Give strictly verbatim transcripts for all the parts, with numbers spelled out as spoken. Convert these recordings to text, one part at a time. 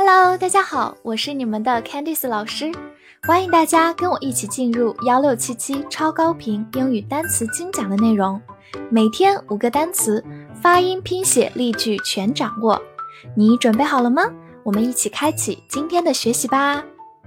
Hello， 大家好，我是你们的 Candice 老师，欢迎大家跟我一起进入一六七七超高频英语单词精讲的内容，每天五个单词，发音、拼写、例句全掌握。你准备好了吗？我们一起开启今天的学习吧。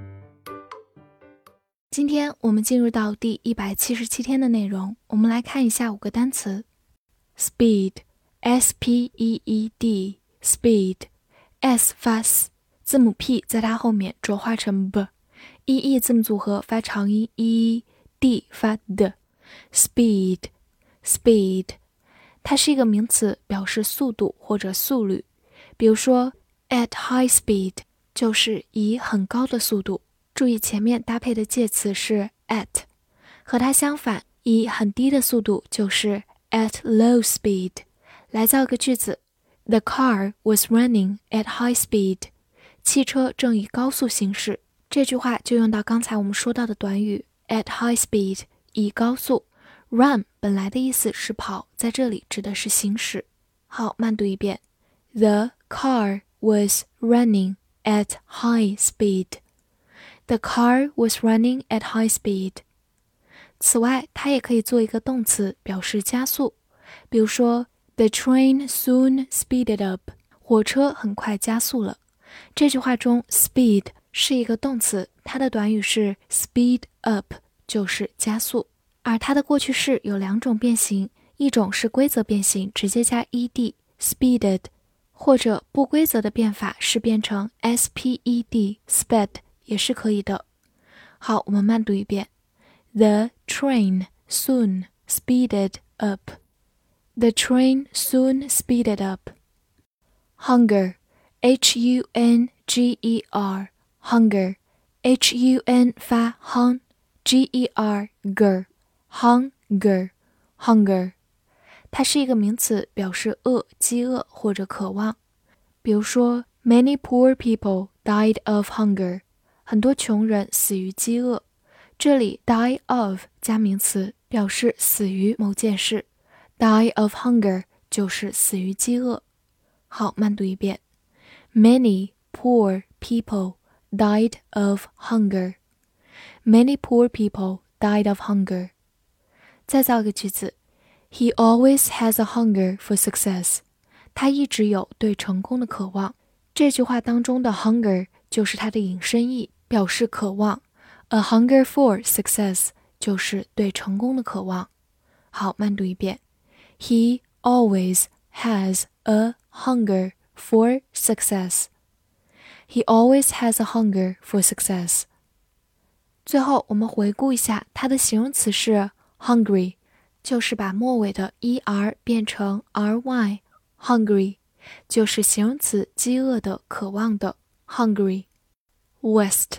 今天我们进入到第一百七十七天的内容，我们来看一下五个单词。Speed, S P E E D, Speed, S 发 S， 字母 P 在它后面浊化成 B，E E 字母组合发长音 E， D 发 D。 Speed, Speed， 它是一个名词，表示速度或者速率。比如说 at high speed 就是以很高的速度，注意前面搭配的介词是 at， 和它相反，以很低的速度就是 at low speed。 来造个句子， The car was running at high speed， 汽车正以高速行驶。这句话就用到刚才我们说到的短语 at high speed， 以高速。 Run 本来的意思是跑，在这里指的是行驶。好，慢读一遍， The car was running at high speed。The car was running at high speed。 此外，它也可以做一个动词，表示加速。比如说 The train soon speeded up， 火车很快加速了。这句话中 speed 是一个动词，它的短语是 speed up， 就是加速。而它的过去式有两种变形，一种是规则变形，直接加 ed speeded， 或者不规则的变法是变成 sped sped，也是可以的。好，我们慢读一遍， The train soon speeded up. The train soon speeded up. Hunger, H U N G E R, Hunger, H U N 发 hun, G E R ger, Hunger, Hunger. 它是一个名词，表示饿、饥饿或者渴望。比如说 Many poor people died of hunger，很多穷人死于饥饿。这里 die of 加名词，表示死于某件事， die of hunger 就是死于饥饿。好，慢读一遍， Many poor people died of hunger. Many poor people died of hunger. 再造个句子， He always has a hunger for success. 他一直有对成功的渴望。这句话当中的 hunger 就是它的引申义，表示渴望。 A hunger for success 就是对成功的渴望。好，慢读一遍， He always has a hunger for success. He always has a hunger for success. 最后我们回顾一下，它的形容词是 hungry， 就是把末尾的 er 变成 ry， hungry 就是形容词饥饿的、渴望的 hungry。 West,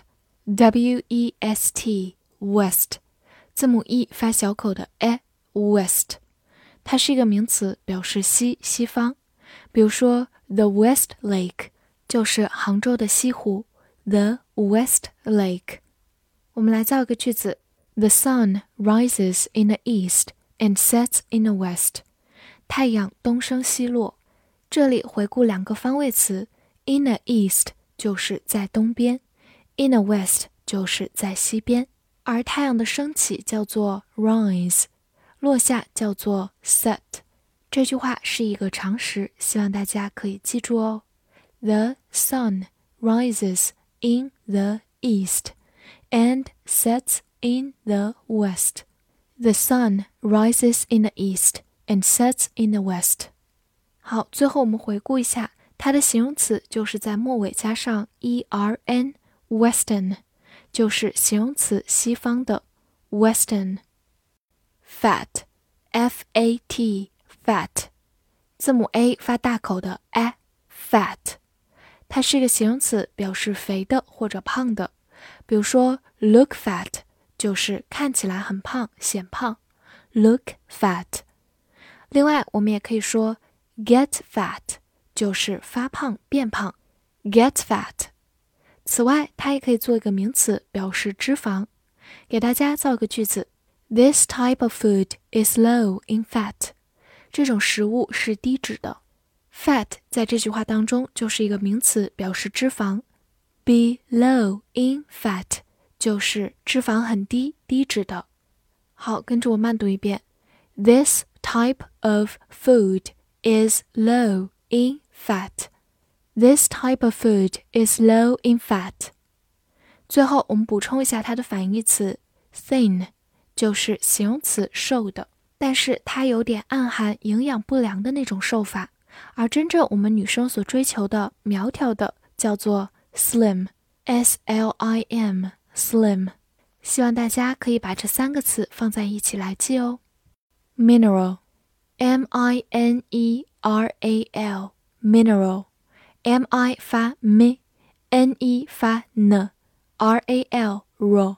W E S T, West， 字母 E 发小口的 e, West， 它是一个名词，表示西、西方。比如说 The West Lake 就是杭州的西湖， The West Lake。 我们来造一个句子， The sun rises in the east and sets in the west。 太阳东升西落。这里回顾两个方位词， in the east 就是在东边， in the west 就是在西边。而太阳的升起叫做 rise， 落下叫做 set。 这句话是一个常识，希望大家可以记住哦。 The sun rises in the east and sets in the west. The sun rises in the east and sets in the west。好，最后我们回顾一下，它的形容词就是在末尾加上 er， western 就是形容词西方的 western。 Fat, F A T, fat， 字母 A 发大口的 a, fat， 它是一个形容词，表示肥的或者胖的。比如说 look fat 就是看起来很胖、显胖， look fat。 另外我们也可以说Get fat 就是发胖变胖 Get fat。 此外它也可以做一个名词，表示脂肪。给大家造个句子， This type of food is low in fat。 这种食物是低脂的。 Fat 在这句话当中就是一个名词，表示脂肪。 be low in fat 就是脂肪很低，低脂的。好，跟着我慢读一遍。This type of food is low in fat. This type of food is low in fat. 最后我们补充一下它的反义词 thin 就是形容词瘦的，但是它有点暗含营养不良的那种瘦法，而真正我们女生所追求的苗条的叫做 slim S L I M slim。 希望大家可以把这三个词放在一起来记哦。 Mineral M I N E R A L Mineral M I 发 m N E 发 n R A L raw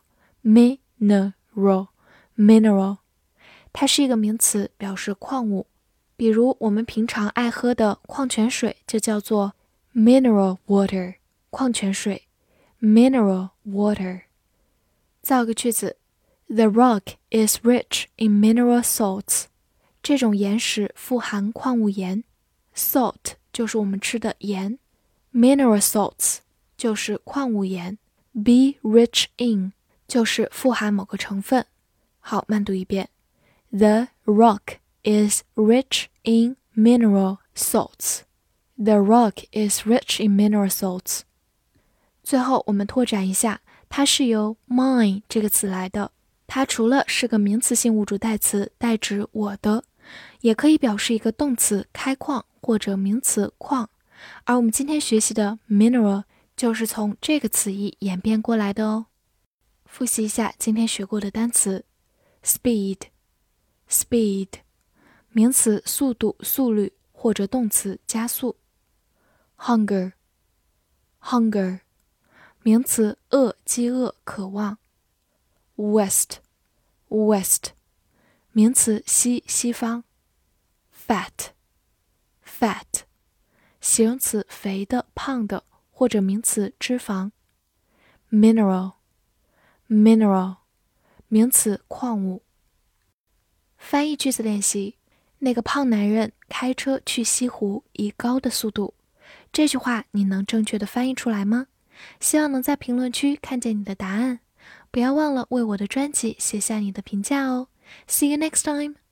Mineral Mineral 它是一个名词，表示矿物，比如我们平常爱喝的矿泉水就叫做 mineral water 矿泉水 Mineral water。 造个句子 The rock is rich in mineral salts. 这种岩石富含矿物盐 Salt 就是我们吃的盐 Mineral salts 就是矿物盐 Be rich in 就是富含某个成分。好，慢读一遍 The rock is rich in mineral salts. The rock is rich in mineral salts. 最后我们拓展一下，它是由 mine 这个词来的，它除了是个名词性物主代词，代指我的，也可以表示一个动词开矿或者名词矿，而我们今天学习的 mineral 就是从这个词义演变过来的哦。复习一下今天学过的单词 speed speed 名词速度速率或者动词加速 hunger hunger 名词饿饥饿渴望 west west 名词西西方 fat fat 形容词肥的胖的或者名词脂肪 mineral mineral 名词矿物。翻译句子练习，那个胖男人开车去西湖以高的速度。这句话你能正确的翻译出来吗？希望能在评论区看见你的答案。不要忘了为我的专辑写下你的评价哦。See you next time!